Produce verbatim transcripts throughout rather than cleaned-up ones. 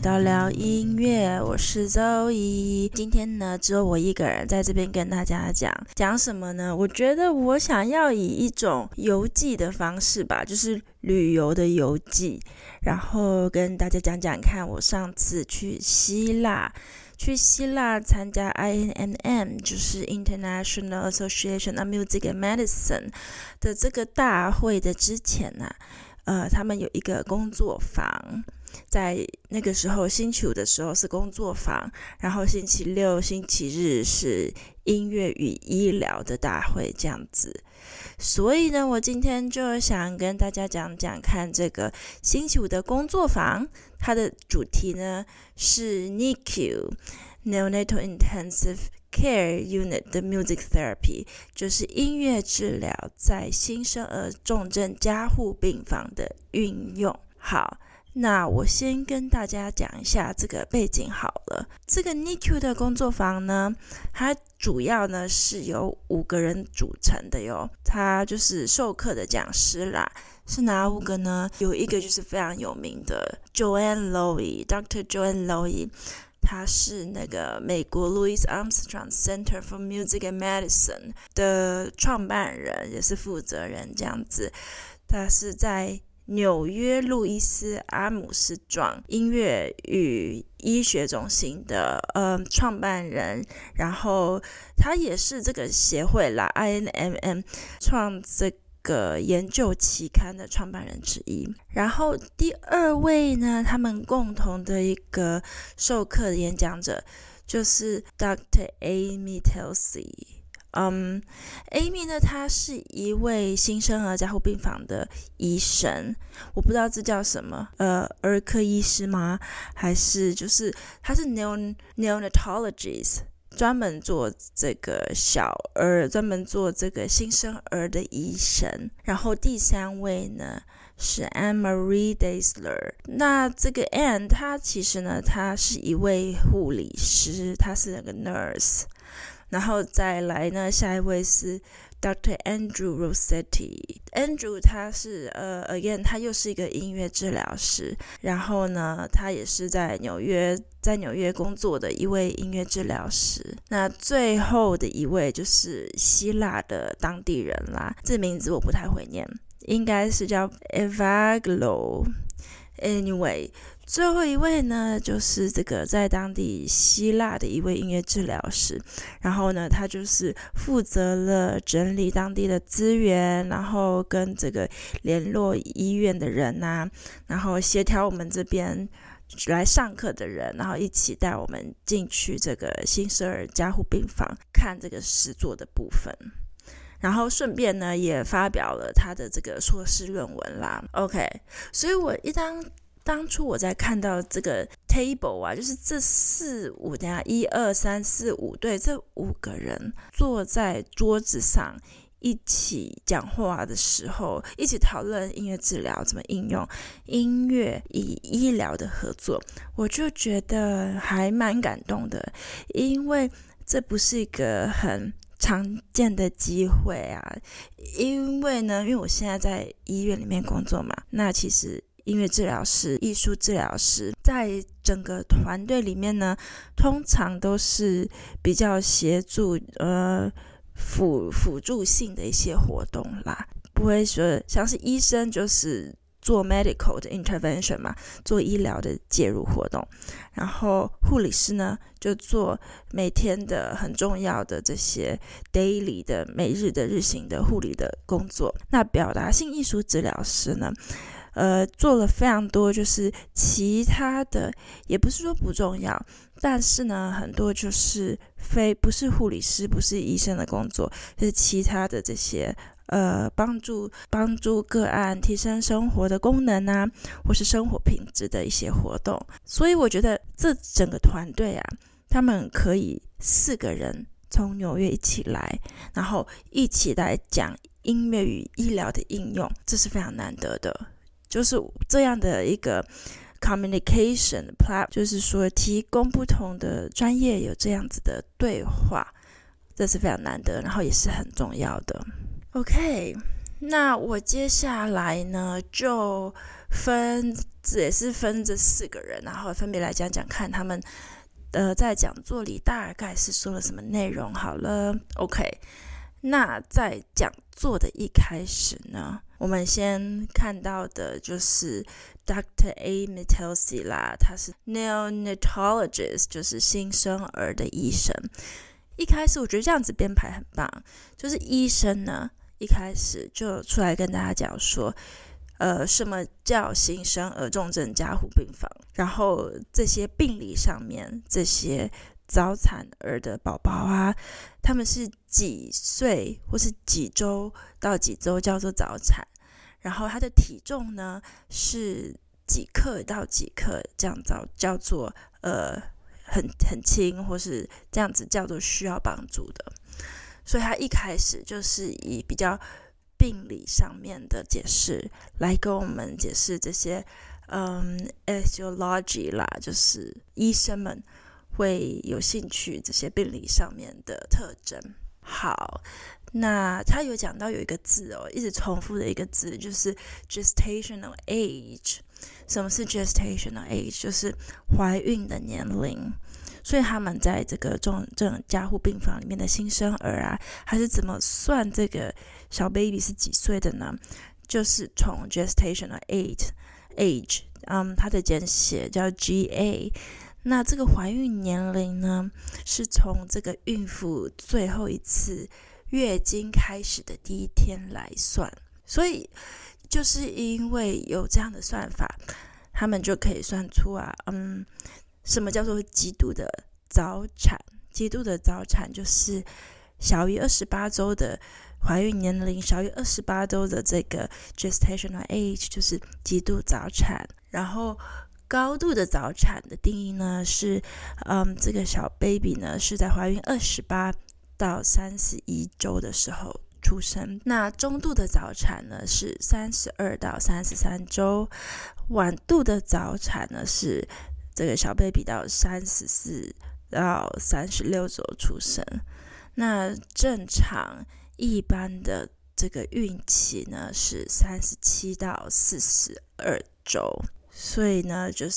到聊音樂，我是 Zoe。今天呢，只有我一個人在這邊跟大家講講什麼呢？我覺得我想要以一種遊記的方式吧，就是旅遊的遊記，然後跟大家講講看我上次去希臘。去希臘參加 I N M M， 就是 International Association of Music and Medicine 的這個大會的之前呢、啊，呃，他們有一個工作坊，在那個時候星期五的時候是工作坊，然後星期六、星期日是音樂與醫療的大會這樣子。所以呢，我今天就想跟大家講講看這個星期五的工作坊，它的主題呢是 N I C U Neonatal Intensive Care Unit 的 Music Therapy， 就是音樂治療在新生兒重症加護病房的運用。好，那我先跟大家講一下這個背景好了。這個 N I C U 的工作坊呢，它主要呢是由五個人組成的喲。他就是授課的講師啦，是哪五個呢？有一個就是非常有名的 Joanne Lowy，Doctor Joanne Lowy， 他是那個美國 Louis Armstrong Center for Music and Medicine 的創辦人，也是負責人這樣子。他是在紐約路易斯阿姆斯壯音樂與醫學中心的呃創辦人，然後他也是這個協會啦 I N M M 創這個研究期刊的創辦人之一。然後第二位呢，他們共同的一個授課的演講者就是 Doctor Amy Telsey。嗯、um, ，Amy 呢，她是一位新生兒加護病房的醫生，我不知道這叫什麼，呃，兒科醫師嗎？還是就是她是 neon neonatologist， 專門做這個小兒，專門做這個新生兒的醫生。然後第三位呢是 Anne Marie Daisler， 那這個 Anne 她其實呢，她是一位護理師，她是那個 nurse。然後再來呢，下一位是 Doctor Andrew Rossetti。Andrew 他是呃 again 他又是一個音樂治療師，然後呢，他也是在紐約在紐約工作的一位音樂治療師。那最後的一位就是希臘的當地人啦，這名字我不太會念，應該是叫 Evaglo。Anyway。最後一位呢，就是這個在當地希臘的一位音樂治療師，然後呢，他就是負責了整理當地的資源，然後跟這個聯絡醫院的人啊，然後協調我們這邊來上課的人，然後一起帶我們進去這個新生兒加護病房看這個實作的部分。然後順便呢，也發表了他的這個碩士論文啦。OK， 所以我一當當初我在看到這個 table 啊，就是這四五，等下一二三四五，對，這五個人坐在桌子上一起講話的時候，一起討論音樂治療怎麼應用音樂與醫療的合作，我就覺得還蠻感動的，因為這不是一個很常見的機會啊。因為呢，因為我現在在醫院裡面工作嘛，那其實音樂治療師、藝術治療師在整個團隊裡面呢，通常都是比較協助呃輔輔助性的一些活動啦，不會說像是醫生就是做 medical 的 intervention 嘛，做醫療的介入活動，然後護理師呢就做每天的很重要的這些 daily 的每日的日行的護理的工作。那表達性藝術治療師呢，呃，做了非常多，就是其他的，也不是說不重要，但是呢，很多就是非不是護理師、不是醫生的工作，就是其他的這些呃，幫助幫助個案提升生活的功能啊，或是生活品質的一些活動。所以我覺得這整個團隊啊，他們可以四個人從紐約一起來，然後一起來講音樂與醫療的應用，這是非常難得的。就是這樣的一個 communication platform， 就是說提供不同的專業有這樣子的對話，這是非常難得，然後也是很重要的。OK， 那我接下來呢，就分也是分這四個人，然後分別來講講看他們呃在講座裡大概是說了什麼內容。好了 ，OK。那在講座的一開始呢，我們先看到的就是 Doctor Amy Telsey 啦，他是 Neonatologist， 就是新生兒的醫生。一開始我覺得這樣子編排很棒，就是醫生呢一開始就出來跟大家講說，呃，什麼叫新生兒重症加護病房，然後這些病理上面這些早產兒的寶寶啊，他們是幾歲或是幾周到幾周叫做早產，然後他的體重呢是幾克到幾克，這樣叫叫做呃很很輕，或是這樣子叫做需要幫助的。所以他一開始就是以比較病理上面的解釋來跟我們解釋這些嗯 etiology 啦，就是醫生們會有興趣這些病理上面的特徵。好，那他有講到有一個字哦，一直重複的一個字就是 gestational age。什麼是 gestational age？ 就是懷孕的年齡。所以他們在這個重症加護病房裡面的新生兒啊，還是怎麼算這個小 baby 是幾歲的呢？就是從 gestational age age， 嗯，它的簡寫叫 G A。那這個懷孕年齡呢，是從這個孕婦最後一次月經開始的第一天來算。所以就是因為有這樣的算法，他們就可以算出啊，嗯，什麼叫做極度的早產？極度的早產就是小於二十八周的懷孕年齡，小於二十八周的這個 gestational age 就是極度早產。然後高度的早產的定義呢是，嗯，這個小 baby 呢是在懷孕二十八到三十一周的時候出生。那中度的早產呢是三十二到三十三周，晚度的早產呢是這個小 baby 到三十四到三十六周出生。那正常一般的這個孕期呢是三十七到四十二周。所以呢，就是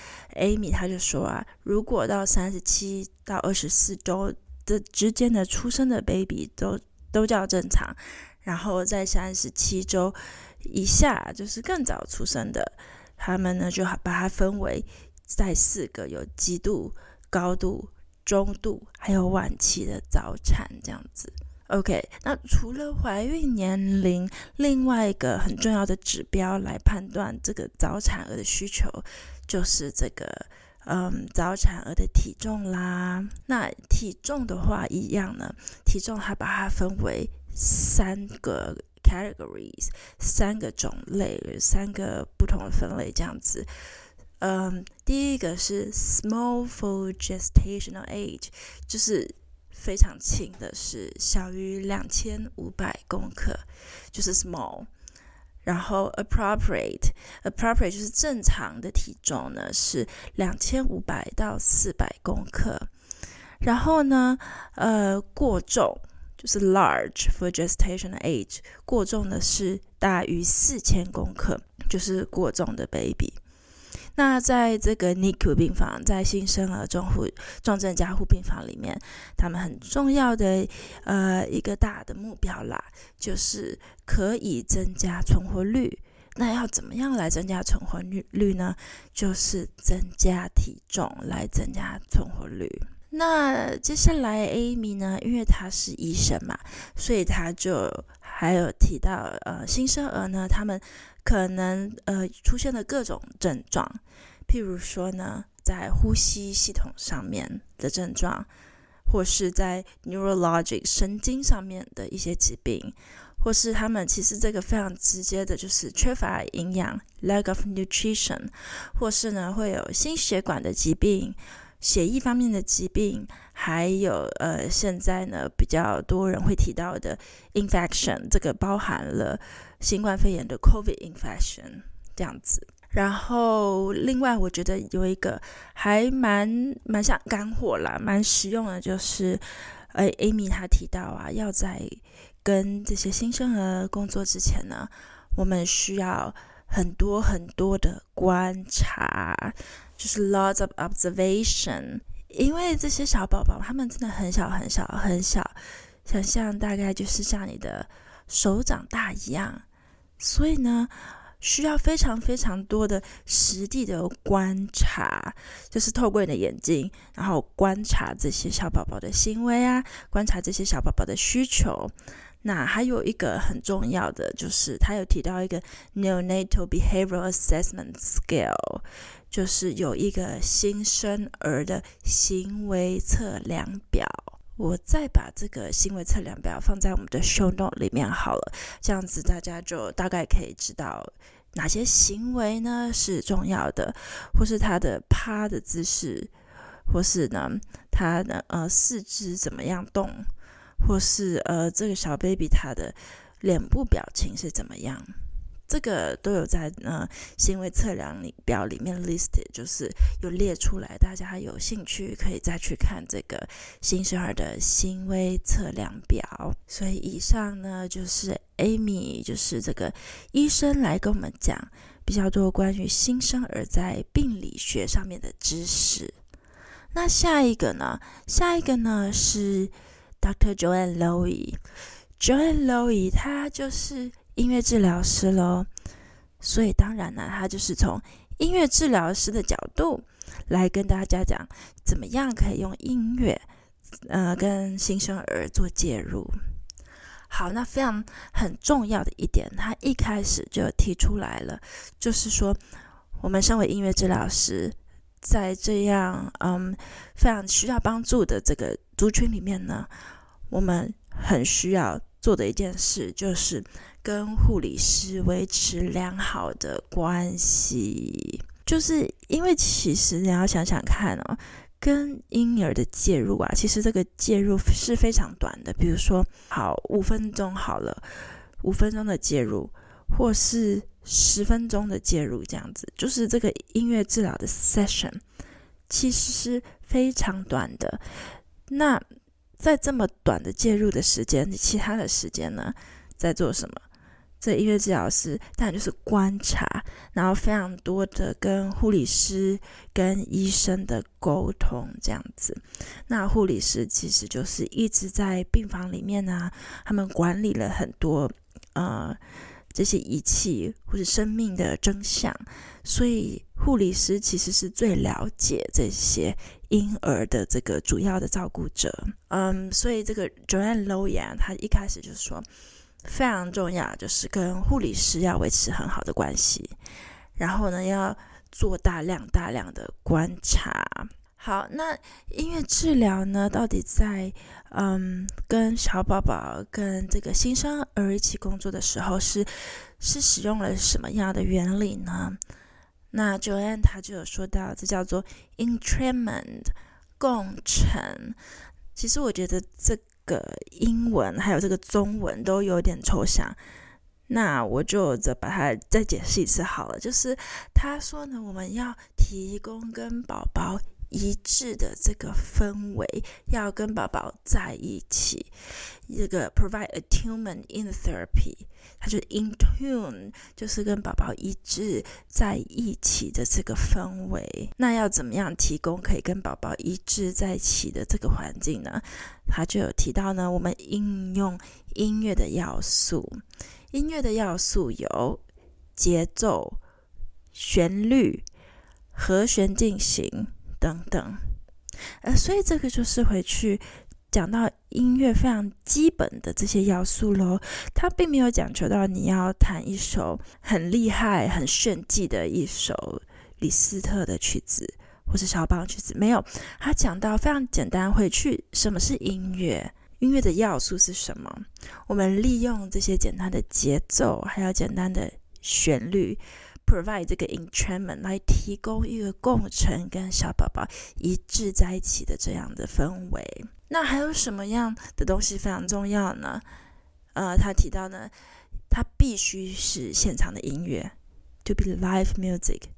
Amy 她就說啊，如果到三十七到二十四周的之間的出生的 baby 都都叫正常，然後在三十七周以下就是更早出生的，他們呢就把它分為在四個有極度、高度、中度還有晚期的早產這樣子。OK， 那除了懷孕年齡，另外一個很重要的指標來判斷這個早產兒的需求，就是這個嗯早產兒的體重啦。那體重的話一樣呢，體重它把它分為三個 categories， 三個種類，三個不同的分類這樣子。嗯，第一個是 small for gestational age， 就是非常輕的，是小於兩千五百公克，就是 small。然後 appropriate appropriate 就是正常的體重呢，是兩千五百到四百公克。然後呢，呃，過重就是 large for gestational age， 過重的是大於四千公克，就是過重的 baby。那在這個 N I C U 病房，在新生兒重護重症加護病房裡面，他們很重要的呃一個大的目標啦，就是可以增加存活率。那要怎麼樣來增加存活率呢？就是增加體重來增加存活率。那接下來 Amy 呢，因為她是醫生嘛，所以她就還有提到呃新生兒呢，他們可能呃出現的各種症狀，譬如說呢，在呼吸系統上面的症狀，或是在 neurologic 神經上面的一些疾病，或是他們其實這個非常直接的就是缺乏營養 lack of nutrition， 或是呢會有心血管的疾病、血液方面的疾病，還有呃現在呢比較多人會提到的 infection， 這個包含了新冠肺炎的 COVID infection 這樣子。然後另外我覺得有一個還蠻蠻像乾貨啦，蠻實用的，就是呃 Amy 她提到啊，要在跟這些新生兒工作之前呢，我們需要很多很多的觀察，就是 lots of observation。因為這些小寶寶他們真的很小很小很小，想象大概就是像你的手掌大一樣，所以呢需要非常非常多的實地的觀察，就是透過你的眼睛，然後觀察這些小寶寶的行為啊，觀察這些小寶寶的需求。那還有一個很重要的，就是他有提到一個 Neonatal Behavioral Assessment Scale， 就是有一個新生兒的行為測量表。我再把這個行為測量表放在我們的 show note 裡面好了，這樣子大家就大概可以知道哪些行為呢是重要的，或是他的趴的姿勢，或是呢他的呃四肢怎麼樣動，或是呃這個小 baby 他的臉部表情是怎麼樣。這個都有在呃行為測量表裡面 listed， 就是有列出來，大家有興趣可以再去看這個新生兒的行為測量表。所以以上呢就是 Amy， 就是這個醫生來跟我們講比較多關於新生兒在病理學上面的知識。那下一個呢，下一個呢是 Doctor Joanne Lowy。Joanne Lowy 他就是音樂治療師咯，所以當然呢，他就是從音樂治療師的角度來跟大家講，怎麼樣可以用音樂，呃，跟新生兒做介入。好，那非常很重要的一點，他一開始就提出來了，就是說，我們身為音樂治療師，在這樣嗯非常需要幫助的這個族群裡面呢，我們很需要做的一件事就是跟護理師維持良好的關係。就是因為其實你要想想看哦，跟嬰兒的介入啊，其實這個介入是非常短的，比如說好五分鐘好了，五分鐘的介入，或是十分鐘的介入，這樣子，就是這個音樂治療的 session 其實是非常短的。那在這麼短的介入的時間，其他的時間呢，在做什麼？這音樂治療師當然就是觀察，然後非常多的跟護理師、跟醫生的溝通這樣子。那護理師其實就是一直在病房裡面啊，他們管理了很多呃這些儀器或者生命的真相，所以護理師其實是最了解這些嬰兒的這個主要的照顧者。嗯，所以這個 Joanne Lowy 他一開始就說，非常重要就是跟護理師要維持很好的關係，然後呢要做大量大量的觀察。好，那音樂治療呢，到底在嗯跟小寶寶跟這個新生兒一起工作的時候是是使用了什麼樣的原理呢？那 Joanne 她就有說到，這叫做 entrainment 共乘。其實我覺得這個英文還有這個中文都有點抽象，那我就再把它再解釋一次好了。就是他說呢，我們要提供跟寶寶一致的這個氛圍，要跟寶寶在一起，這個 provide attunement in therapy， 它就是 in tune， 就是跟寶寶一致在一起的這個氛圍。那要怎麼樣提供可以跟寶寶一致在一起的這個環境呢？他就有提到呢，我們應用音樂的要素，音樂的要素有節奏、旋律、和弦進行等等，呃，所以這個就是回去講到音樂非常基本的這些要素咯。他並沒有講求到你要彈一首很厲害、很炫技的一首李斯特的曲子或是肖邦曲子，沒有。他講到非常簡單，回去什麼是音樂？音樂的要素是什麼？我們利用這些簡單的節奏，還有簡單的旋律。provide 這個 entrainment 來提供一個共乘跟小寶寶一致在一起的這樣的氛圍。那還有什麼樣的東西非常重要呢？呃，他提到呢，它必須是現場的音樂 to be live music。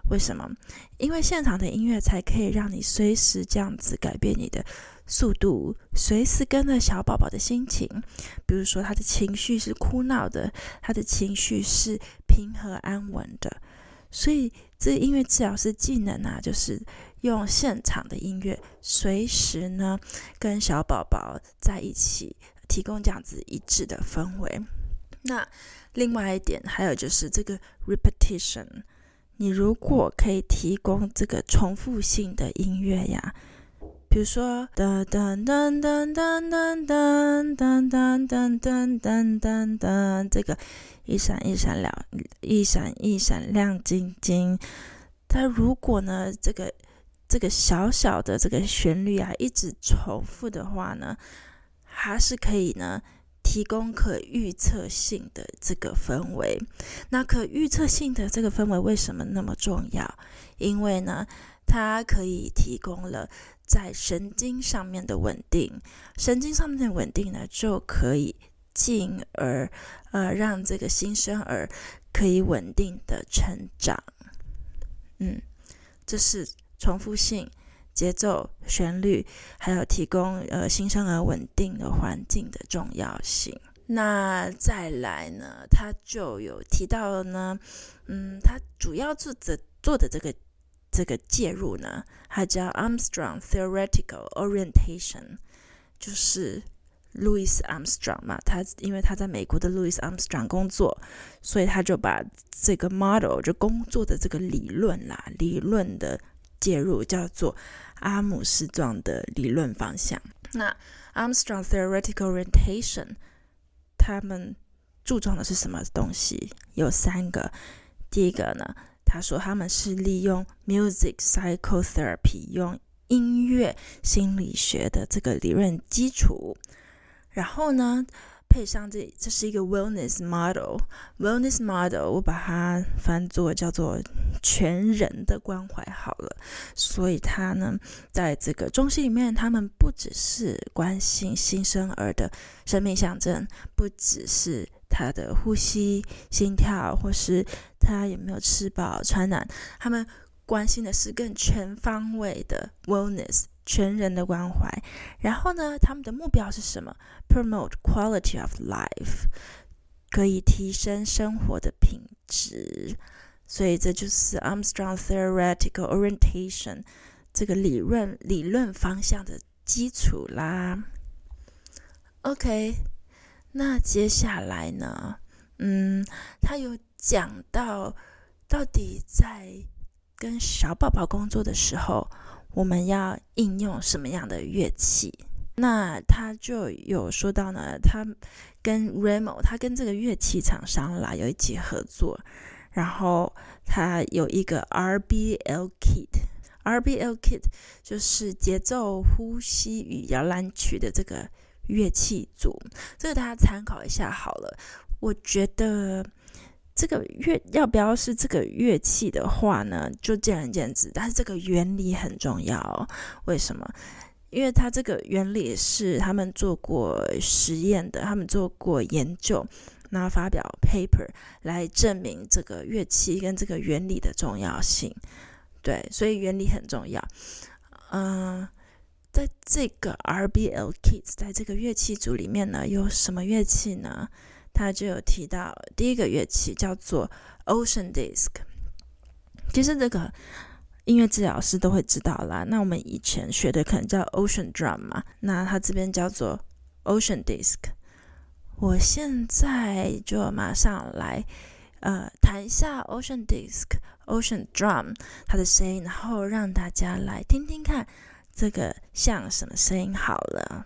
為什麼？因為現場的音樂才可以讓你隨時這樣子改變你的速度，隨時跟着小寶寶的心情。比如說他的情緒是哭鬧的，他的情緒是平和安穩的。所以這音樂治療師技能啊，就是用現場的音樂，隨時呢跟小寶寶在一起，提供這樣子一致的氛圍。那另外一點，還有就是這個 repetition， 你如果可以提供這個重複性的音樂呀，比如說噔噔噔噔噔噔噔噔噔噔噔噔噔噔，這個一閃一閃亮，一閃一閃亮晶晶。它如果呢，這個這個小小的這個旋律啊，一直重複的話呢，還是可以呢。提供可預測性的這個氛圍。那可預測性的這個氛圍為什麼那麼重要？因為呢，它可以提供了在神經上面的穩定，神經上面的穩定呢，就可以進而呃讓這個新生兒可以穩定的成長。嗯，這是重複性。節奏、旋律，還有提供呃新生兒穩定的環境的重要性。那再來呢，他就有提到了呢，嗯，他主要做的做的這個這個介入呢，它叫 Armstrong Theoretical Orientation， 就是路易斯 Armstrong 嘛，他因為他在美國的路易斯 Armstrong 工作，所以他就把這個 model 就工作的這個理論啦，理論的介入叫做阿姆斯壯的理論方向。那 Armstrong Theoretical Orientation 他們注重的是什麼東西？有三個。第一個呢，他說他們是利用 Music Psychotherapy， 用音樂心理學的這個理論基礎，然後呢配上這這是一個 wellness model， wellness model 我把它翻作叫做全人的關懷好了。所以他呢在這個中心裡面，他們不只是關心新生兒的生命象徵，不只是他的呼吸、心跳，或是他有沒有吃飽穿暖，他們關心的是更全方位的 wellness， 全人的關懷。然後呢，他們的目標是什麼？ Promote quality of life， 可以提升生活的品質。所以這就是 Armstrong Theoretical Orientation 這個理論理論方向的基礎啦。OK， 那接下來呢，嗯，他有講到到底在跟小寶寶工作的時候，我們要應用什麼樣的樂器？那他就有說到呢，他跟 Remo， 他跟這個樂器廠商啦有一起合作，然後他有一個 R B L Kit，R B L Kit 就是節奏、呼吸與搖籃曲的這個樂器組，這個大家參考一下好了。我覺得這個樂要不要是這個樂器的話呢，就見仁見智，但是這個原理很重要哦。為什麼？因為它這個原理是他們做過實驗的，他們做過研究，然後發表 paper 來證明這個樂器跟這個原理的重要性。對，所以原理很重要。嗯、呃，在這個 R B L Kit 在這個樂器組裡面呢，有什麼樂器呢？他就有提到第一個樂器叫做 Ocean Disc。其實這個音樂治療師都會知道啦，那我們以前學的可能叫 Ocean Drum 嘛，那它這邊叫做 Ocean Disc。我現在就馬上來呃彈一下 Ocean Disc、Ocean Drum 它的聲音，然後讓大家來聽聽看這個像什麼聲音好了。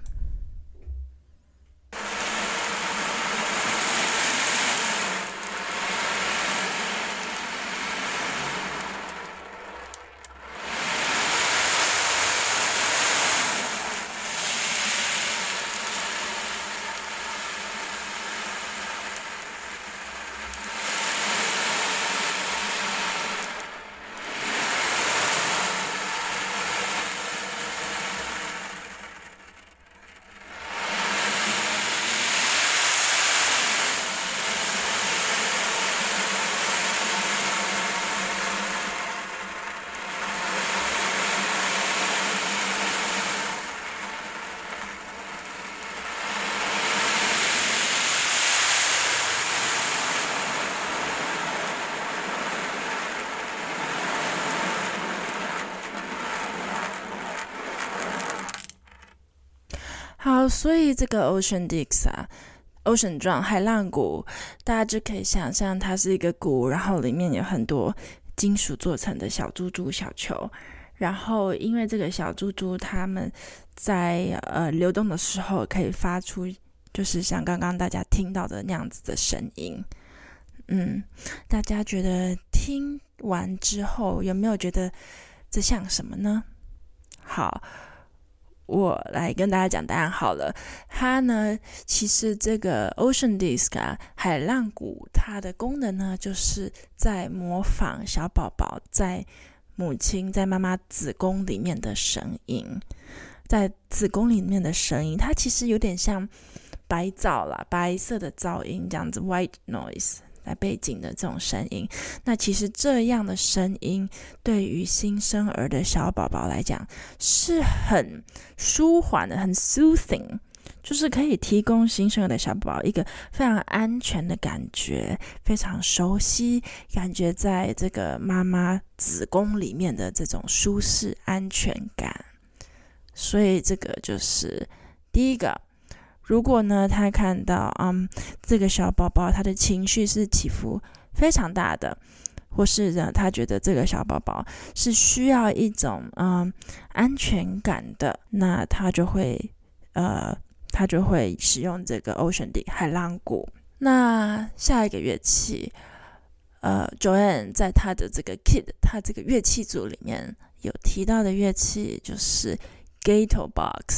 好，所以這個 Ocean Disk 啊 ，Ocean Drum 海浪鼓，大家就可以想象它是一個鼓，然後裡面有很多金屬做成的小珠珠、小球，然後因為這個小珠珠它們在呃流動的時候可以發出，就是像剛剛大家聽到的那樣子的聲音。嗯，大家覺得聽完之後有沒有覺得這像什麼呢？好，我來跟大家講答案好了。它呢，其實這個 Ocean Disk 啊，海浪鼓，它的功能呢，就是在模仿小寶寶在母親在媽媽子宮裡面的聲音，在子宮裡面的聲音，它其實有點像白噪啦，白色的噪音這樣子 ，white noise。在背景的這種聲音，那其實這樣的聲音對於新生兒的小寶寶來講是很舒緩的，很 soothing， 就是可以提供新生兒的小寶寶一個非常安全的感覺，非常熟悉，感覺在這個媽媽子宮裡面的這種舒適安全感。所以這個就是第一個。如果呢，他看到嗯這個小寶寶他的情緒是起伏非常大的，或是呢他覺得這個小寶寶是需要一種嗯安全感的，那他就會呃他就會使用這個 Ocean Disk 海浪鼓。那下一個樂器，呃 Joanne 在他的這個 Kit 他這個樂器組裡面有提到的樂器就是 Gato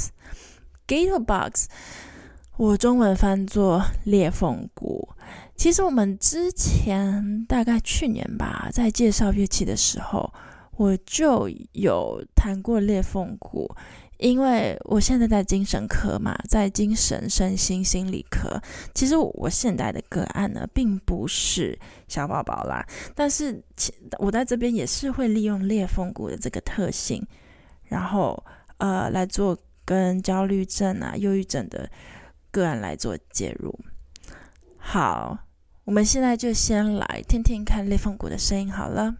Box。Gato Box我中文翻作裂縫鼓。其實我們之前大概去年吧，在介紹樂器的時候，我就有談過裂縫鼓。因為我現在在精神科嘛，在精神身心心理科。其實我現在的個案呢，並不是小寶寶啦，但是我在這邊也是會利用裂縫鼓的這個特性，然後呃來做跟焦慮症啊、憂鬱症的個案來做介入。好，我們現在就先來聽聽看裂縫鼓的聲音好了。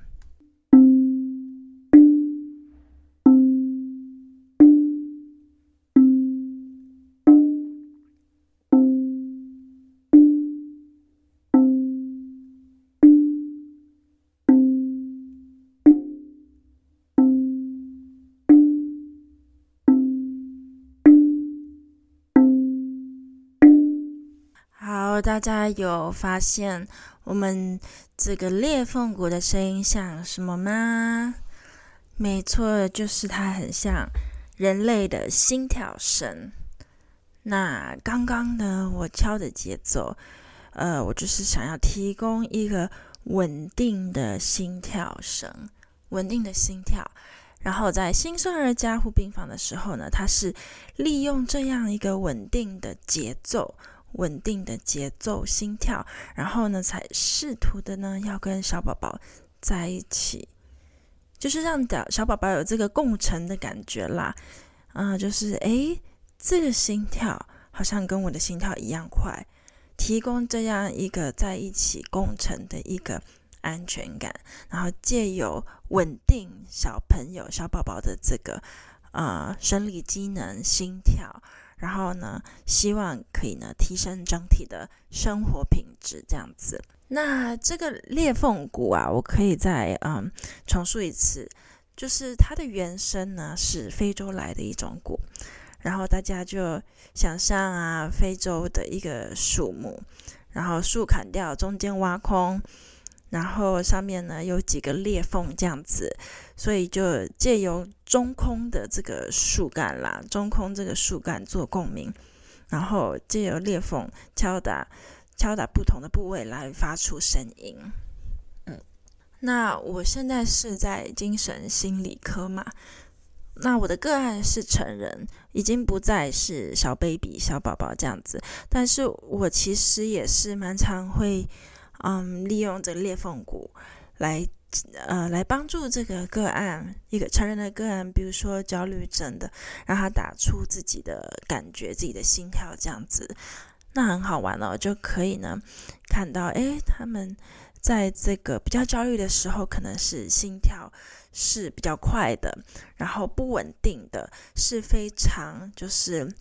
大家有發現我們這個裂縫鼓的聲音像什麼嗎？沒錯，就是它很像人類的心跳聲。那剛剛呢，我敲的節奏，呃，我就是想要提供一個穩定的心跳聲，穩定的心跳。然後在新生兒加護病房的時候呢，它是利用這樣一個穩定的節奏。穩定的節奏心跳，然後呢才試圖的呢要跟小寶寶在一起，就是讓小寶寶有這個共振的感覺啦。啊、呃，就是誒這個心跳好像跟我的心跳一樣快，提供這樣一個在一起共振的一個安全感，然後借由穩定小朋友小寶寶的這個呃生理機能心跳，然後呢，希望可以呢提升整體的生活品質，這樣子。那這個裂縫鼓啊，我可以再嗯重述一次，就是它的原聲呢是非洲來的一種鼓，然後大家就想象啊，非洲的一個樹木，然後樹砍掉，中間挖空，然後上面呢有幾個裂縫這樣子，所以就借由中空的這個樹幹啦，中空這個樹幹做共鳴，然後借由裂縫敲打敲打不同的部位來發出聲音。嗯，那我現在是在精神心理科嘛，那我的個案是成人，已經不再是小 baby 小寶寶這樣子，但是我其實也是蠻常會嗯利用這個裂縫鼓來呃，來幫助這個個案，一個成人的個案，比如說焦慮症的，讓他打出自己的感覺，自己的心跳這樣子，那很好玩哦，就可以呢看到，誒，他們在這個比較焦慮的時候，可能是心跳是比較快的，然後不穩定的，是非常就是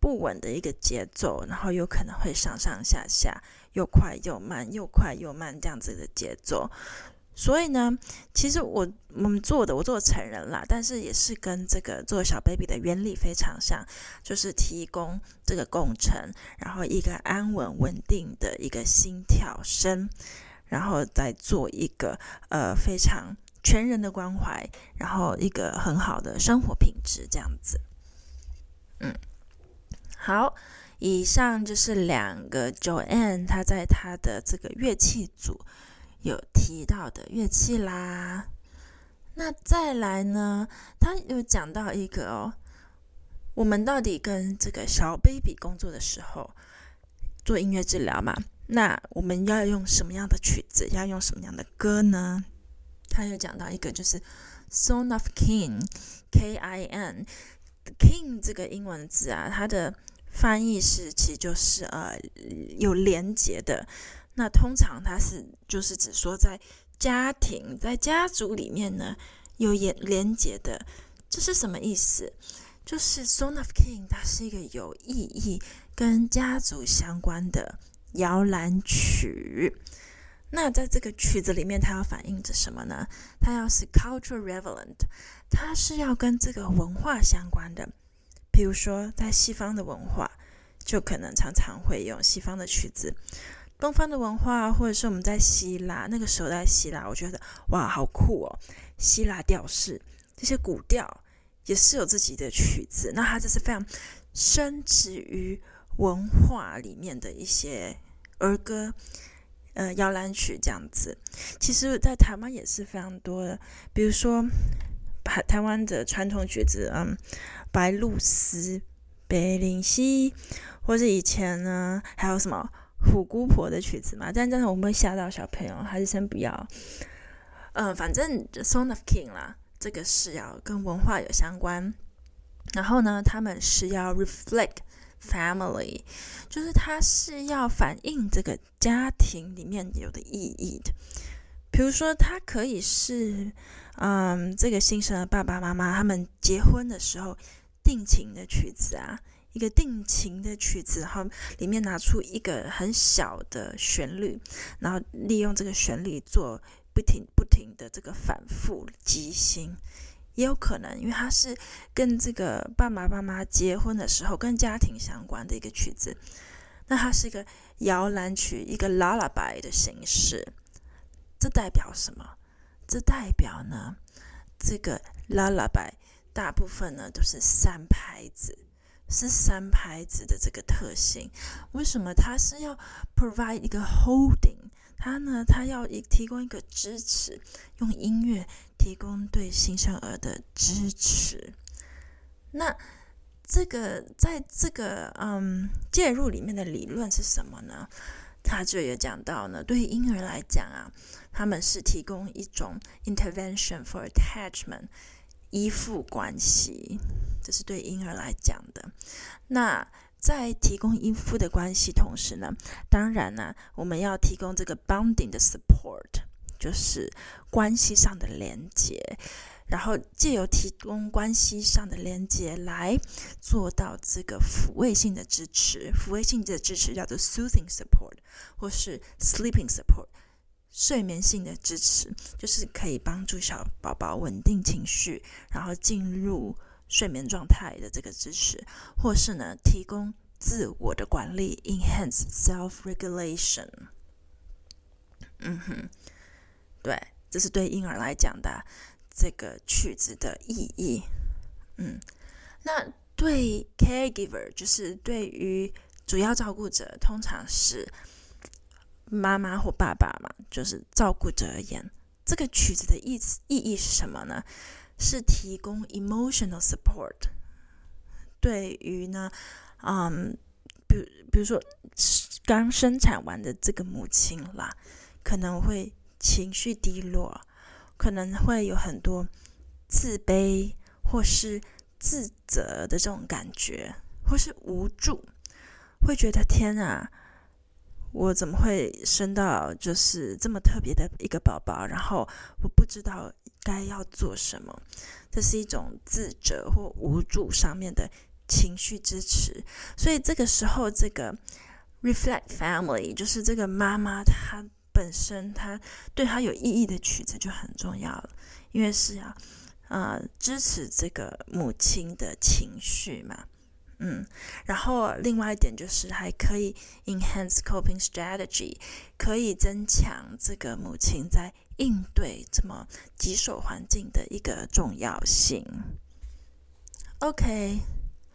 不穩的一個節奏，然後有可能會上上下下，又快又慢，又快又慢這樣子的節奏。所以呢，其實我我們做的，我做成人啦，但是也是跟這個做小 baby 的原理非常像，就是提供這個共振，然後一個安穩穩定的一個心跳聲，然後再做一個呃非常全人的關懷，然後一個很好的生活品質這樣子。嗯，好，以上就是兩個 Joanne 她在她的這個樂器組有提到的樂器啦。那再來呢，他有講到一個哦，我們到底跟這個小 baby 工作的時候做音樂治療嘛，那我們要用什麼樣的曲子，要用什麼樣的歌呢？他有講到一個就是 Song of King K I N King 這個英文字啊，它的翻譯是其實就是呃有連結的。那通常它是就是指說在家庭在家族裡面呢有連連結的，這是什麼意思？就是 Song of King 它是一個有意義跟家族相關的搖籃曲。那在這個曲子裡面，它要反映着什麼呢？它要是 cultural relevant， 它是要跟這個文化相關的。比如說在西方的文化，就可能常常會用西方的曲子。東方的文化，或者是我們在希臘那個時候在希臘，我覺得哇，好酷哦！希臘調式這些古調也是有自己的曲子，那它這是非常深植於文化裡面的一些兒歌、呃搖籃曲這樣子。其實，在台灣也是非常多的，比如說台台灣的傳統曲子，嗯，白鷺鷥、北林溪，或者以前呢還有什麼？虎姑婆的曲子嘛，但真的我們會嚇到小朋友，還是先不要。呃，反正 Song of King 啦，這個是要跟文化有相關。然後呢，他們是要 reflect family， 就是它是要反映這個家庭裡面有的意義的。比如說，它可以是，嗯，這個新生的爸爸媽媽他們結婚的時候定情的曲子啊。一個定情的曲子，然後裡面拿出一個很小的旋律，然後利用這個旋律做不停不停的這個反復即興，也有可能，因為它是跟這個爸爸媽媽結婚的時候跟家庭相關的一個曲子，那它是一個搖籃曲，一個 lullaby 的形式。這代表什麼？這代表呢，這個 lullaby 大部分呢都是三拍子。是三拍子的這個特性，為什麼它是要 provide 一個 holding？ 它呢，它要提供一個支持，用音樂提供對新生兒的支持。那這個在這個嗯介入裡面的理論是什麼呢？他就有講到呢，對於嬰兒來講啊，他們是提供一種 intervention for attachment。依附關係，這是對嬰兒來講的。那在提供依附的關係同時呢，當然呢、啊，我們要提供這個 bonding 的 support， 就是關係上的連接，然後藉由提供關係上的連接來做到這個撫慰性的支持。撫慰性的支持叫做 soothing support 或是 sleeping support。睡眠性的支持就是可以幫助小寶寶穩定情緒，然後進入睡眠狀態的這個支持，或是呢提供自我的管理 enhance self-regulation。 嗯哼，對，這是對嬰兒來講的這個曲子的意義。嗯，那對 caregiver 就是對於主要照顧者，通常是媽媽或爸爸嘛，就是照顧者而言，這個曲子的意意義是什麼呢？是提供 emotional support。對於呢，嗯，比如比如說剛生產完的這個母親啦，可能會情緒低落，可能會有很多自卑或是自責的這種感覺，或是無助，會覺得天啊，我怎麼會生到就是這麼特別的一個寶寶，然後我不知道該要做什麼。這是一種自責或無助上面的情緒支持。所以這個時候，這個 reflect family 就是這個媽媽她本身，她對她有意義的曲子就很重要了，因為是要呃支持這個母親的情緒嘛。嗯，然後另外一點就是還可以 enhance coping strategy， 可以增強這個母親在應對這麼棘手環境的一個重要性。OK，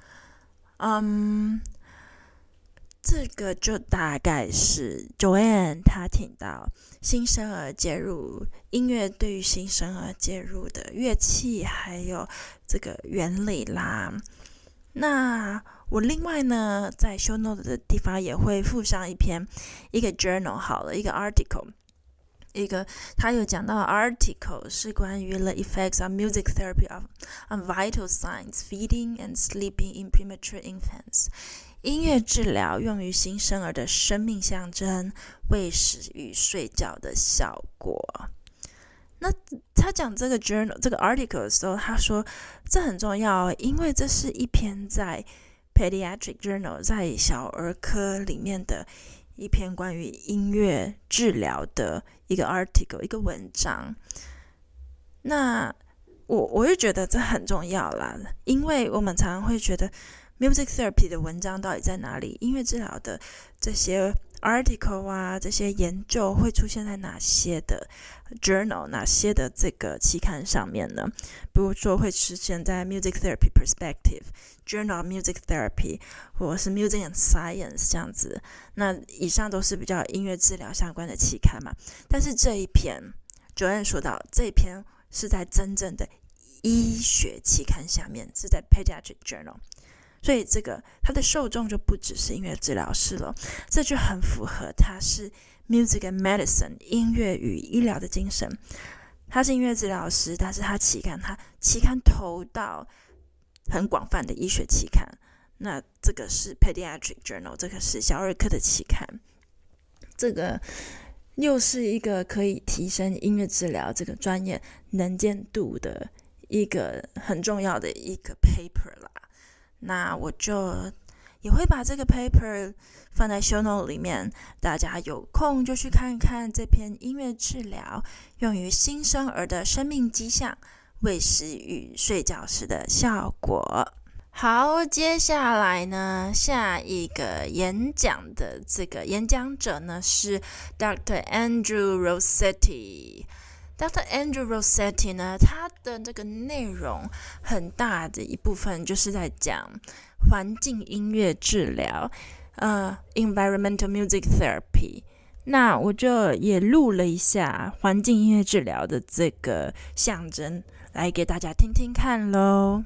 嗯，這個就大概是 Joanne 她提到新生兒介入音樂對於新生兒介入的樂器還有這個原理啦。那我另外呢，在 show note 的地方也會附上一篇一個 journal 好了，一個 article， 一個他有講到 article 是關於 the effects of music therapy of, on vital signs, feeding and sleeping in premature infants。音樂治療用於新生兒的生命象徵、餵食與睡覺的效果。那他講這個 journal 這個 article 的時候，他說這很重要，因為這是一篇在 pediatric journal 在小兒科裡面的一篇關於音樂治療的一個 article 一個文章。那我我就覺得這很重要啦，因為我們常常會覺得 music therapy 的文章到底在哪裡？音樂治療的這些 article 啊，這些研究會出現在哪些的 journal， 哪些的這個期刊上面呢？比如說會出現在 Music Therapy Perspective、Journal of Music Therapy， 或者是 Music and Science 這樣子。那以上都是比較音樂治療相關的期刊嘛。但是這一篇 Joanne 說到，這一篇是在真正的醫學期刊下面，是在 Pediatric Journal。所以這個它的受眾就不只是音樂治療師了，這就很符合它是 Music and Medicine 音樂與醫療的精神。他是音樂治療師，但是他期刊他期刊投到很廣泛的醫學期刊。那這個是 Pediatric Journal， 這個是小兒科的期刊。這個又是一個可以提升音樂治療這個專業能見度的一個很重要的一個 paper 啦。那我就也會把這個 paper 放在 show note 裡面，大家有空就去看看這篇音樂治療用於新生兒的生命跡象、餵食與睡覺時的效果。好，接下來呢，下一個演講的這個演講者呢是 Doctor Andrew Rossetti。Doctor Andrew Rossetti 呢，他的這個內容很大的一部分就是在講環境音樂治療，呃 ，environmental music therapy。那我就也錄了一下環境音樂治療的這個象徵，來給大家聽聽看嘍。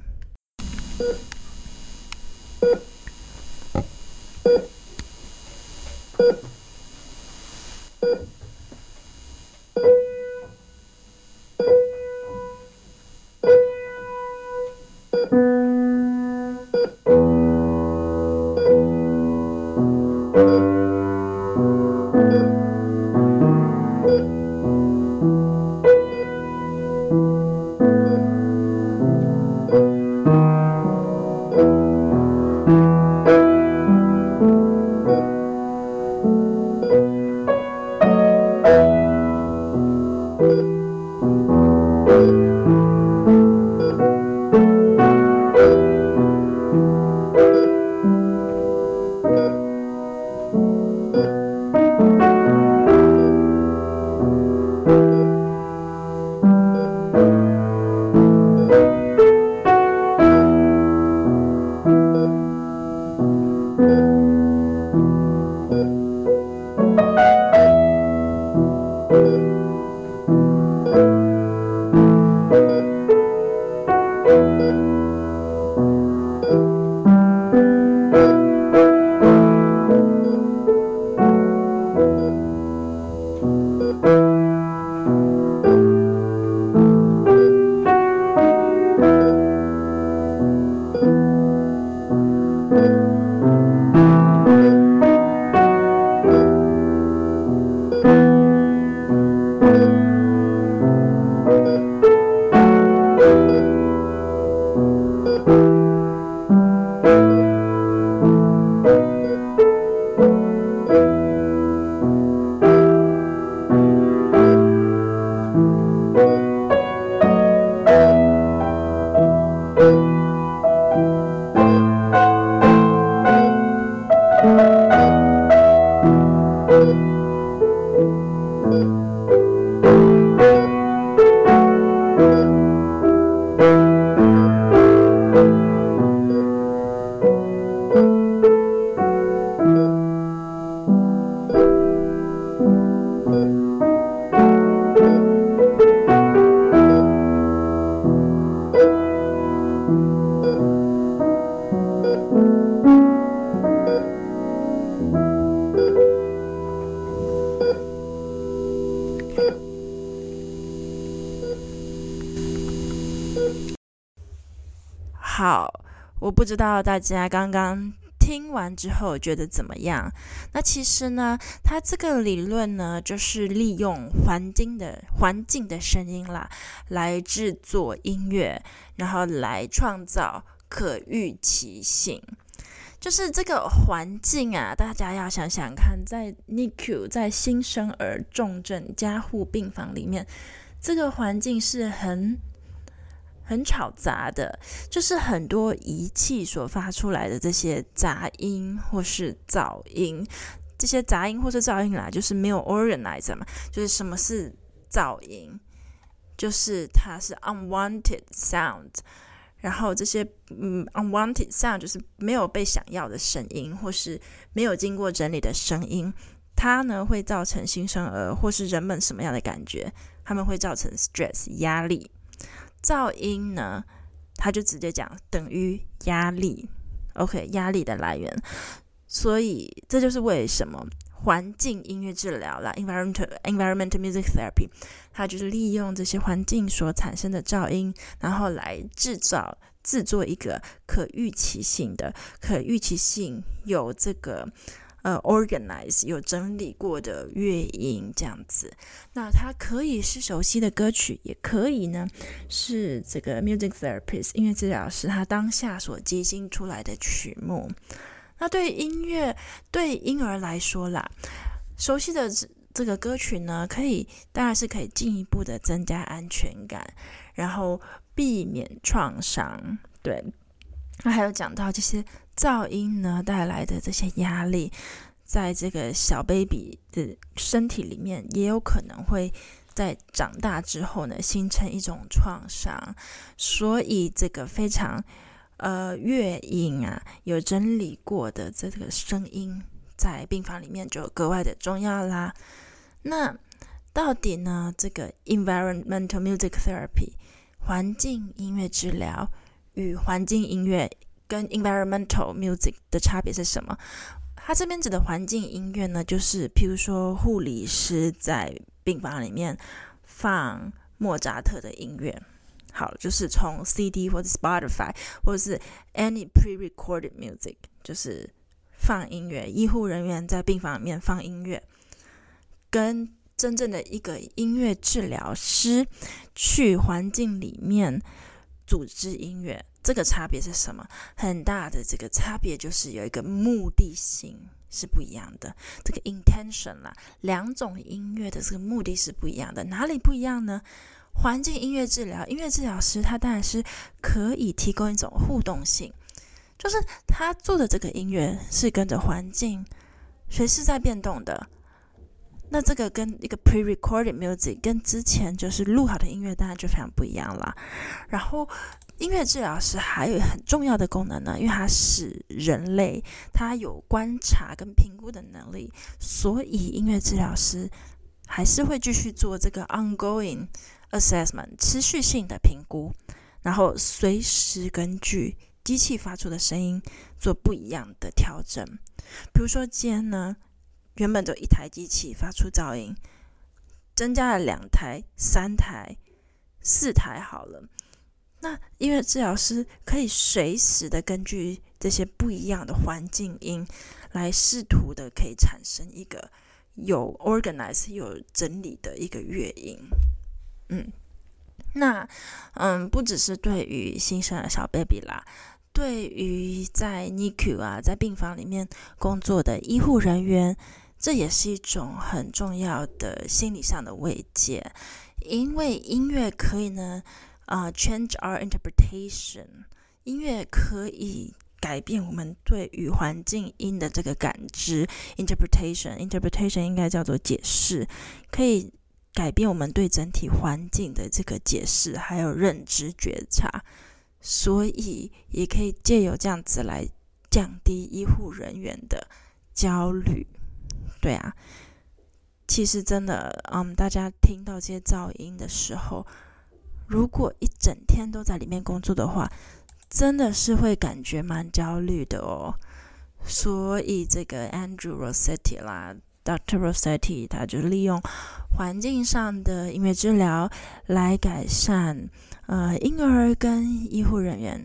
好，我不知道大家剛剛聽完之後覺得怎麼樣？那其實呢，它這個理論呢，就是利用環境的環境的聲音啦，來制作音樂，然後來創造可預期性。就是這個環境啊，大家要想想看，在 N I C U 在新生兒重症加護病房裡面，這個環境是很很吵雜的，就是很多儀器所發出來的這些雜音或是噪音，這些雜音或是噪音啦，就是沒有 organize 嘛，就是什麼是噪音，就是它是 unwanted sound。然後這些嗯 unwanted sound 就是沒有被想要的聲音，或是沒有經過整理的聲音，它呢會造成新生兒或是人們什麼樣的感覺？他們會造成 stress 壓力。噪音呢，它就直接講等於壓力 ，OK 壓力的來源。所以這就是為什麼環境音樂治療啦 environmental environmental music therapy， 它就是利用這些環境所產生的噪音，然後來制造制作一個可預期性的可預期性有這個呃 organize 有整理過的樂音這樣子。那它可以是熟悉的歌曲，也可以呢是這個 music therapist 音樂治療師他當下所即興出來的曲目。那對於音樂，對嬰兒來說啦，熟悉的這個歌曲呢，可以當然是可以進一步的增加安全感，然後避免創傷。對，那還有講到這些噪音呢帶來的這些壓力，在這個小 baby 的身體裡面，也有可能會在長大之後呢形成一種創傷，所以這個非常。呃，樂音啊，有整理過的這個聲音，在病房裡面就格外的重要啦。那到底呢，這個 environmental music therapy 環境音樂治療與環境音樂跟 environmental music 的差別是什麼？它這邊指的環境音樂呢，就是譬如說護理師在病房裡面放莫扎特的音樂。好，就是從 C D 或者 Spotify 或者是 any pre-recorded music， 就是放音樂，醫護人員在病房裡面放音樂，跟真正的一個音樂治療師去環境裡面組織音樂，這個差別是什麼？很大的這個差別就是有一個目的性是不一樣的，這個 intention 啦，兩種音樂的這個目的是不一樣的，哪裡不一樣呢？環境音樂治療，音樂治療師他當然是可以提供一種互動性，就是他做的這個音樂是跟着環境隨時在變動的。那這個跟一個 pre-recorded music 跟之前就是錄好的音樂當然就非常不一樣啦。然後音樂治療師還有很重要的功能呢，因為他是人類，他有觀察跟評估的能力，所以音樂治療師還是會繼續做這個 ongoing assessment 持續性的評估，然後隨時根據機器發出的聲音做不一樣的調整。比如說今天呢，原本就一台機器發出噪音，增加了兩台、三台、四台好了。那音樂治療師可以隨時的根據這些不一樣的環境音，來試圖的可以產生一個有 organize 有整理的一個樂音。嗯，那嗯，不只是對於新生兒小 baby 啦，對於在 N I C U 啊，在病房裡面工作的醫護人員，這也是一種很重要的心理上的慰藉，因為音樂可以呢，啊、呃、，change our interpretation， 音樂可以改變我們對於環境音的這個感知 ，interpretation，interpretation interpretation 應該叫做解釋，可以改變我們對整體環境的這個解釋，還有認知覺察，所以也可以借由這樣子來降低醫護人員的焦慮。對啊，其實真的，嗯，大家聽到這些噪音的時候，如果一整天都在裡面工作的話，真的是會感覺蠻焦慮的哦。所以這個 Andrew Rossetti 啦。Doctor Rossetti 他就利用環境上的音樂治療來改善呃嬰兒跟醫護人員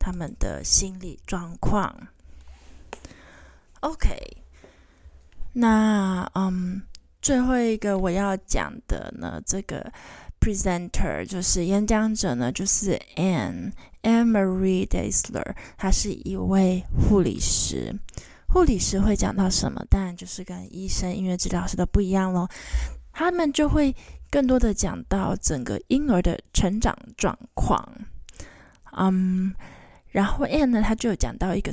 他們的心理狀況。OK， 那嗯，最後一個我要講的呢，這個 presenter 就是演講者呢，就是 Anne Anne Marie Daisler， 她是一位護理師。護理師會講到什麼？當然就是跟醫生、音樂治療師都不一樣咯。他們就會更多的講到整個嬰兒的成長狀況。嗯，然後 Anne 呢，他就有講到一個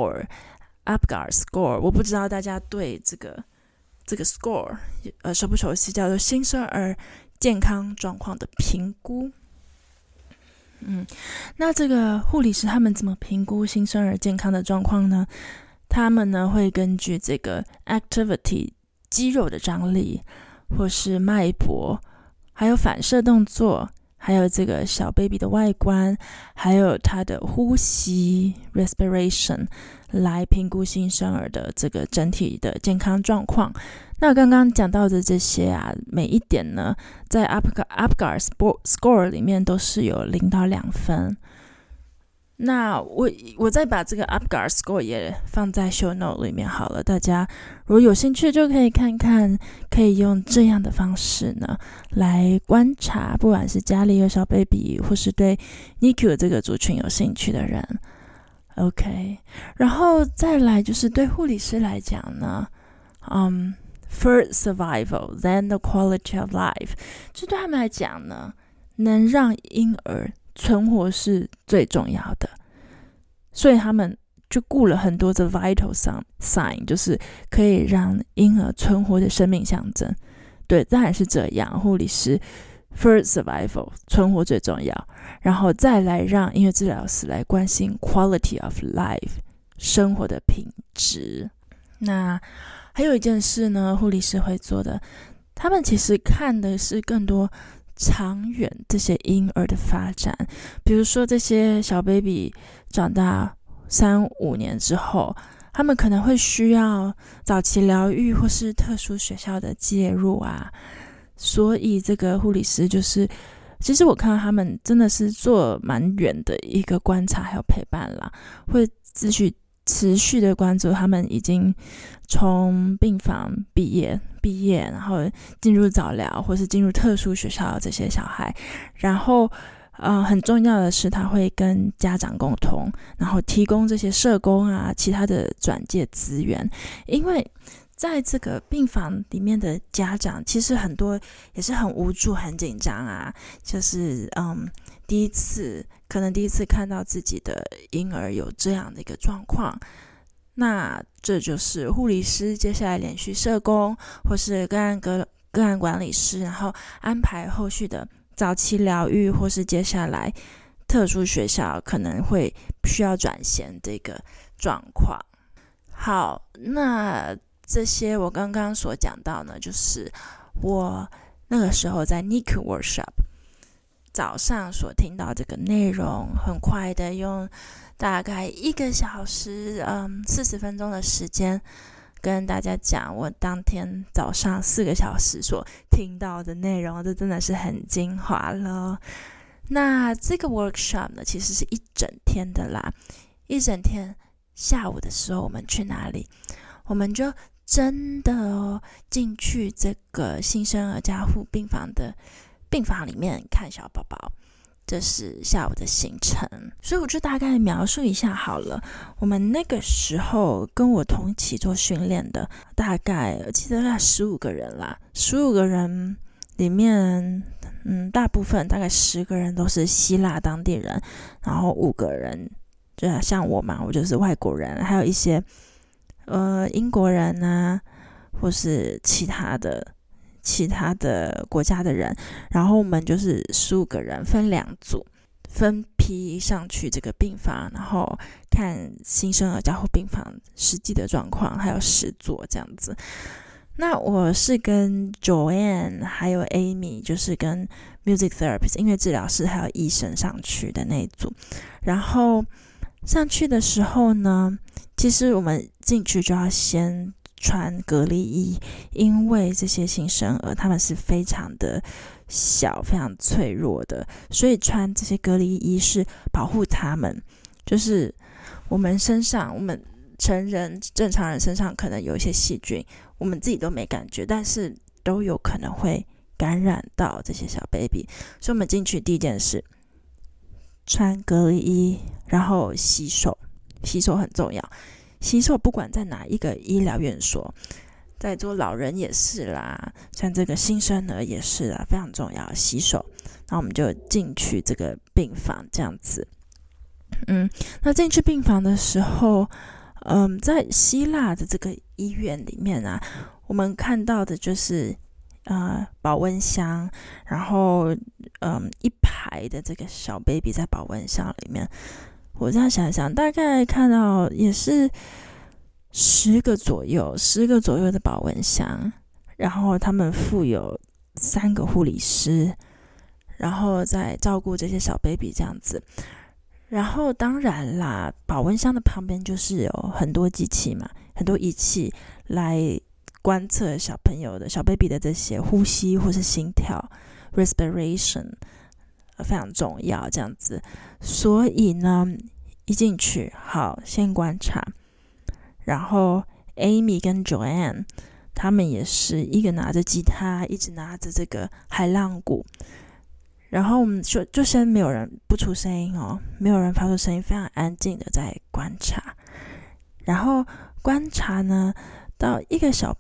score，Apgar score， 我不知道大家對這個這個 score 呃熟不熟悉，叫做新生兒健康狀況的評估。嗯，那這個護理師他們怎麼評估新生兒健康的狀況呢？他們呢會根據這個 activity 肌肉的張力，或是脈搏，還有反射動作，還有這個小 baby 的外觀，還有他的呼吸 respiration 來評估新生兒的這個整體的健康狀況。那剛剛講到的這些啊，每一點呢，在 Apgar, Apgar score 裡面都是有零到兩分。那我我再把這個 Apgar score 也放在 show note 裡面好了，大家如果有興趣就可以看看，可以用這樣的方式呢來觀察，不管是家裡有小 baby 或是對 N I C U 這個族群有興趣的人。OK， 然後再來就是對護理師來講呢，嗯、um,，first survival, then the quality of life， 就對他們來講呢，能讓嬰兒存活是最重要的，所以他們就顧了很多的 vital sign， 就是可以讓嬰兒存活的生命象徵。對，當然是這樣，護理師 first survival 存活最重要，然後再來讓音樂治療師來關心 quality of life 生活的品質。那還有一件事呢，護理師會做的，他們其實看的是更多長遠這些嬰兒的發展，比如說這些小 baby 長大三五年之後，他們可能會需要早期療育或是特殊學校的介入啊，所以這個護理師就是，其實我看到他們真的是做蠻遠的一個觀察還有陪伴啦，會繼續持續的關注他們已經從病房畢業畢業，然後進入早療或是進入特殊學校的這些小孩，然後呃很重要的是他會跟家長溝通，然後提供這些社工啊其他的轉介資源，因為在這個病房裡面的家長其實很多也是很無助很緊張啊，就是嗯第一次可能第一次看到自己的嬰兒有這樣的一個狀況，那這就是護理師接下來連續社工或是個案個個案管理師，然後安排後續的早期療育或是接下來特殊學校可能會需要轉銜這個狀況。好，那這些我剛剛所講到呢，就是我那個時候在 N I C U workshop 早上所聽到這個內容，很快的用大概一個小時，嗯，四十分鐘的時間跟大家講我當天早上四個小時所聽到的內容，這真的是很精華了。那這個 workshop 呢，其實是一整天的啦，一整天下午的時候我們去哪裡？我們就真的哦進去這個新生兒加護病房的病房裡面看小寶寶，這是下午的行程。所以我就大概描述一下好了。我們那個時候跟我同一起做訓練的，大概我記得大概十五個人啦，十五個人裡面，嗯，大部分大概十個人都是希臘當地人，然後五個人就像我嘛，我就是外國人，還有一些呃英國人啊，或是其他的。其他的國家的人，然後我們就是十五個人分兩組，分批上去這個病房，然後看新生兒加護病房實際的狀況，還有實作這樣子。那我是跟 Joanne 還有 Amy， 就是跟 music therapist 音樂治療師還有醫生上去的那一組。然後上去的時候呢，其實我們進去就要先穿隔離衣，因為這些新生兒他們是非常的小非常脆弱的，所以穿這些隔離衣是保護他們， 就是我們身上，我們成人正常人身上可能有一些細菌，我們自己都沒感覺，但是都有可能會感染到這些小 baby。所以我們進去第一件事，穿隔離衣，然後洗手，洗手很重要。洗手不管在哪一個醫療院所，在做老人也是啦，像這個新生兒也是啦，非常重要，洗手。然後我們就進去這個病房這樣子。嗯，那進去病房的時候，嗯，在希臘的這個醫院裡面啊，我們看到的就是呃保溫箱，然後嗯一排的這個小 baby 在保溫箱裡面。我這樣想想，大概看到也是十個左右，十個左右的保溫箱，然後他們附有三個護理師，然後再照顧這些小 baby 這樣子。然後當然啦，保溫箱的旁邊就是有很多機器嘛，很多儀器來觀測小朋友的小 baby 的這些呼吸或是心跳 respiration， 非常重要這樣子。所以呢，一進去好先觀察，然後 Amy 跟 Joanne 他們也是一個拿着吉他，一直拿着這個海浪鼓。然後我們就就先沒有人不出聲音哦，沒有人發出聲音，非常安靜的在觀察。然後觀察呢，到一個小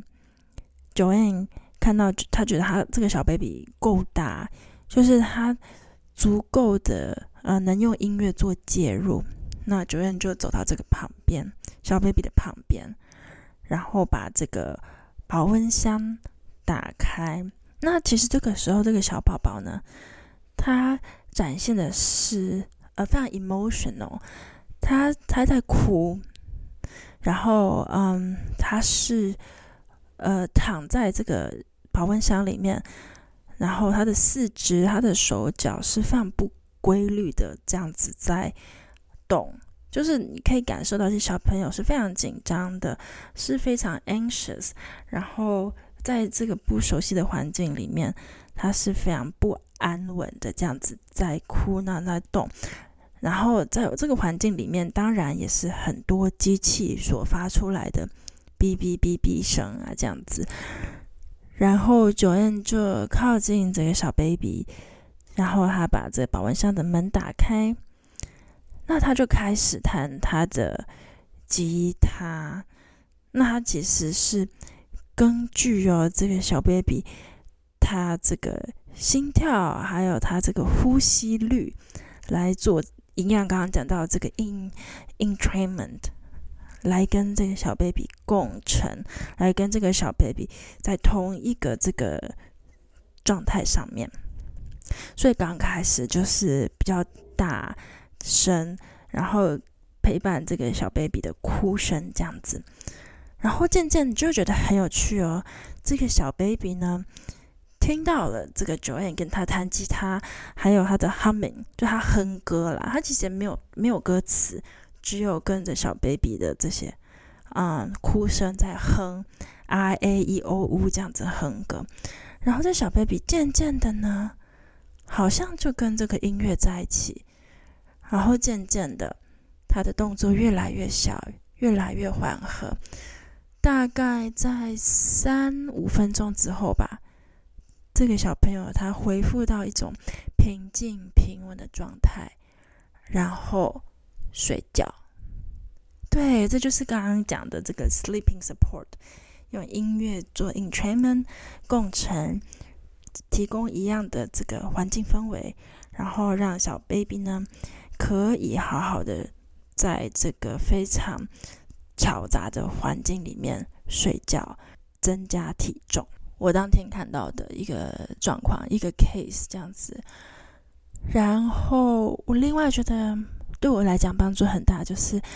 baby，Joanne 看到他覺得他這個小 baby 夠大，就是他足夠的呃能用音樂做介入。那 Joanne 就走到這個旁邊，小 baby 的旁邊，然後把這個保溫箱打開。那其實這個時候，這個小寶寶呢，他展現的是呃非常 emotional， 他他在哭，然後嗯，他是呃躺在這個保溫箱裡面，然後他的四肢、他的手腳是非常不規律的這樣子在動，就是你可以感受到這些小朋友是非常緊張的，是非常 anxious， 然後在這個不熟悉的環境裡面，他是非常不安穩的這樣子在哭鬧在動。然後在這個環境裡面，當然也是很多機器所發出來的嗶嗶嗶嗶聲啊這樣子。然後 Joanne 就靠近這個小 baby， 然後他把這個保溫箱的門打開，那他就開始彈他的吉他。那他其實是根據哦，這個小 baby 他這個心跳還有他這個呼吸率來做，一樣剛剛講到這個 in entrainment， 來跟這個小 baby 共乘，來跟這個小 baby 在同一個這個狀態上面。所以剛開始就是比較大聲，然後陪伴這個小 baby 的哭聲這樣子。然後漸漸你就覺得很有趣哦，這個小 baby 呢，聽到了這個 Joanne 跟他彈吉他，還有他的 humming， 就他哼歌啦。他其實沒有沒有歌詞，只有跟着小 baby 的這些嗯哭聲在哼 R A E O U 這樣子哼歌。然後這小 baby 漸漸的呢，好像就跟這個音樂在一起，然後漸漸的，他的動作越來越小，越來越緩和。大概在三五分鐘之後吧，這個小朋友他恢復到一種平靜平穩的狀態，然後睡覺。對，這就是剛剛講的這個 sleeping support， 用音樂做 entrainment 共乘，提供一樣的這個環境氛圍，然後讓小 baby 呢可以好好的在這個非常嘈雜的環境裡面睡覺，增加體重。我當天看到的一個狀況，一個 case 這樣子。然後我另外覺得對我來講幫助很大，就是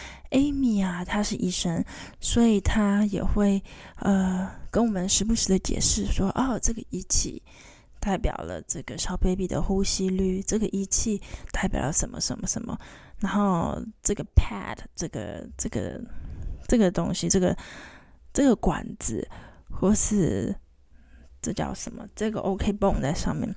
Amy 啊，她是醫生，所以她也會呃跟我們時不時的解釋說，哦，這個儀器代表了這個小 baby 的呼吸率，這個儀器代表了什麼什麼什麼，然後這個 pad 這個這個這個東西，這個這個管子，或是這叫什麼？這個 OK 繃在上面，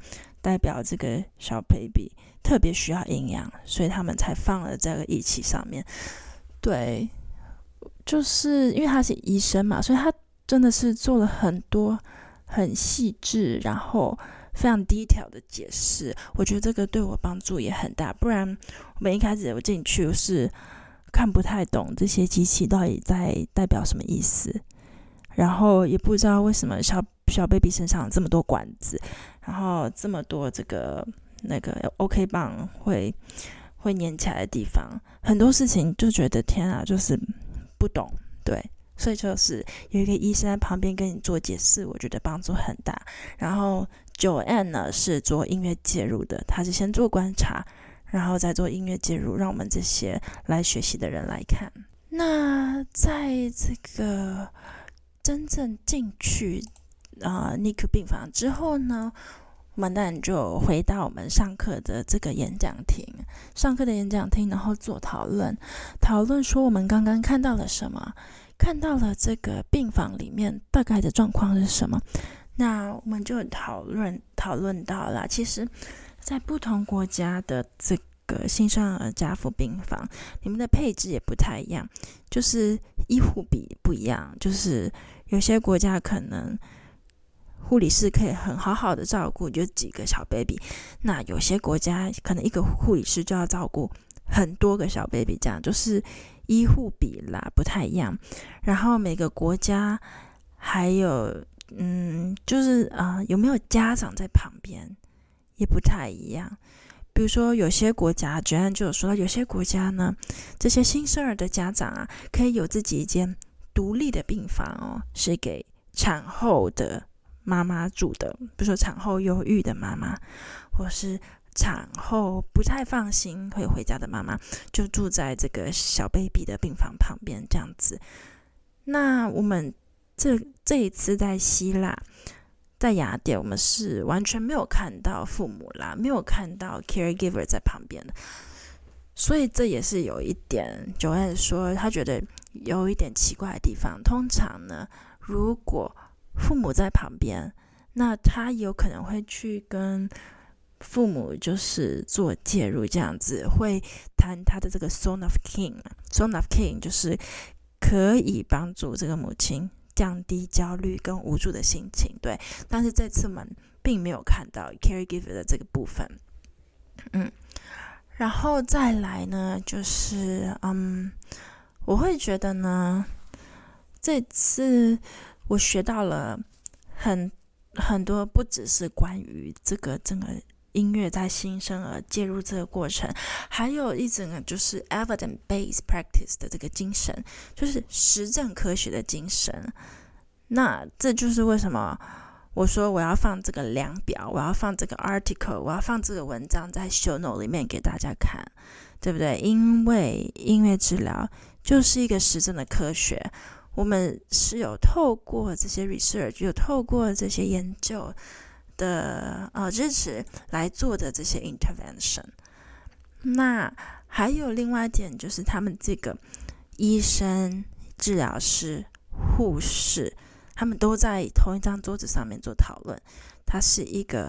代表這個小 baby 特別需要營養，所以他們才放了這個儀器上面。對，就是因為他是醫生嘛，所以他真的是做了很多很細緻，然後非常detail的解釋。我覺得這個對我幫助也很大，不然我們一開始我進去是看不太懂這些機器到底在代表什麼意思，然後也不知道為什麼小小 baby 身上有這麼多管子，然後這麼多這個那個 OK 棒會會粘起來的地方，很多事情就覺得天啊，就是不懂。對，所以就是有一個醫生在旁邊跟你做解釋，我覺得幫助很大。然後 Joanne 呢是做音樂介入的，他是先做觀察，然後再做音樂介入，讓我們這些來學習的人來看。那在這個真正進去啊、呃、N I C U 病房之後呢，我們當然就回到我們上課的這個演講廳，上課的演講廳，然後做討論，討論說我們剛剛看到了什麼，看到了這個病房裡面大概的狀況是什麼。那我們就討論討論到了，其實在不同國家的這個新生兒加護病房，你們的配置也不太一樣，就是醫護比不一樣，就是有些國家可能護理師可以很好好的照顧就幾個小 baby， 那有些國家可能一個護理師就要照顧很多個小 baby， 這樣就是醫護比啦不太一樣。然後每個國家還有嗯，就是啊、呃，有沒有家長在旁邊也不太一樣。比如說有些國家，Joanne就有說到，有些國家呢，這些新生兒的家長啊，可以有自己一間獨立的病房哦，是給產後的媽媽住的，比如說產後憂鬱的媽媽，或是產後不太放心會回家的媽媽，就住在這個小 baby 的病房旁邊這樣子。那我們這這一次在希臘，在雅典，我們是完全沒有看到父母啦，沒有看到 caregiver 在旁邊的，所以這也是有一點 Joanne 說他覺得有一點奇怪的地方。通常呢，如果父母在旁邊，那他有可能會去跟父母就是做介入，這樣子會談他的這個 Zone of King。Zone of King 就是可以幫助這個母親降低焦慮跟無助的心情，對。但是這次我們並沒有看到 caregiver 的這個部分，嗯。然後再來呢，就是嗯，我會覺得呢，這次我學到了很很多，不只是關於這個整個音樂在新生兒介入這個過程，還有一整個就是 evidence-based practice 的這個精神，就是實證科學的精神。那這就是為什麼我說我要放這個量表，我要放這個 article， 我要放這個文章在 show note 裡面給大家看，對不對？因為音樂治療就是一個實證的科學。我們是有透過這些 research， 有透過這些研究的呃支持來做的這些 intervention。那還有另外一點，就是他們這個醫生、治療師、護士，他們都在同一張桌子上面做討論。它是一個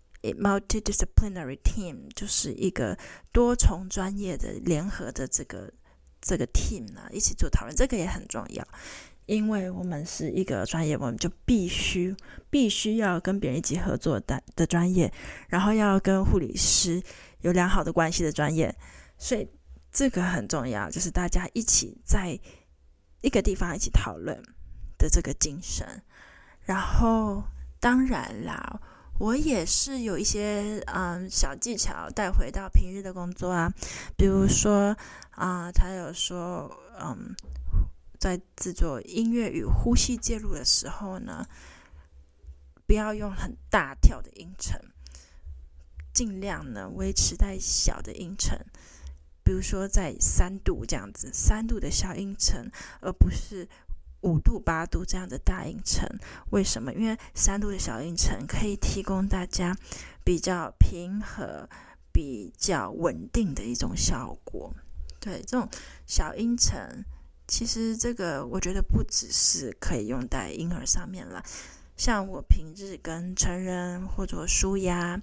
multidisciplinary team， 就是一個多重專業的聯合的這個。這個 team 呢，一起做討論，這個也很重要，因為我們是一個專業，我們就必須必須要跟別人一起合作的的專業，然後要跟護理師有良好的關係的專業，所以這個很重要，就是大家一起在一個地方一起討論的這個精神。然後當然啦，我也是有一些嗯小技巧帶回到平日的工作啊，比如說啊、呃，他有說嗯，在制作音樂與呼吸介入的時候呢，不要用很大跳的音程，盡量呢維持在小的音程，比如說在三度這樣子，三度的小音程，而不是五度、八度這樣的大音程。為什麼？因為三度的小音程可以提供大家比較平和、比較穩定的一種效果。對，這種小音程，其實這個我覺得不只是可以用在嬰兒上面啦，像我平日跟成人或者舒壓，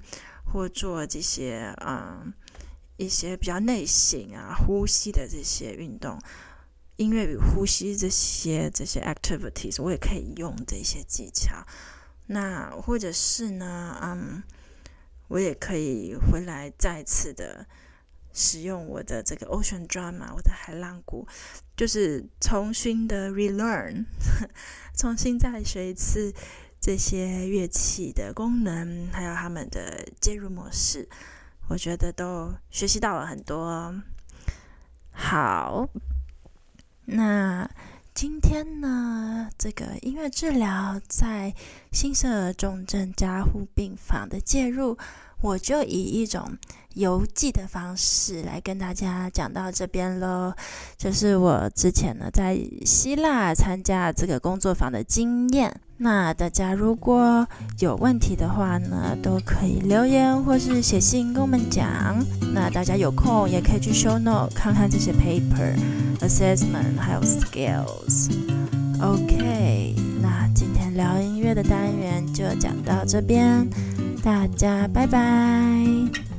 或做這些嗯一些比較內省啊、呼吸的這些運動，音樂與呼吸這些這些 activities， 我也可以用這些技巧。那或者是呢，嗯，我也可以回來再次的使用我的這個 Ocean Drum 啊，我的海浪鼓，就是重新的 relearn， 重新再學一次這些樂器的功能，還有他們的介入模式，我覺得都學習到了很多。好，那今天呢，這個音樂治療在新生兒重症加護病房的介入，我就以一種遊記的方式來跟大家講到這邊咯。就是我之前呢在希臘參加這個工作坊的經驗。那大家如果有問題的話呢，都可以留言或是寫信跟我們講。那大家有空也可以去 show note 看看這些 paper、assessment 還有 skills。OK， 那今天聊音樂的單元就講到這邊，大家拜拜。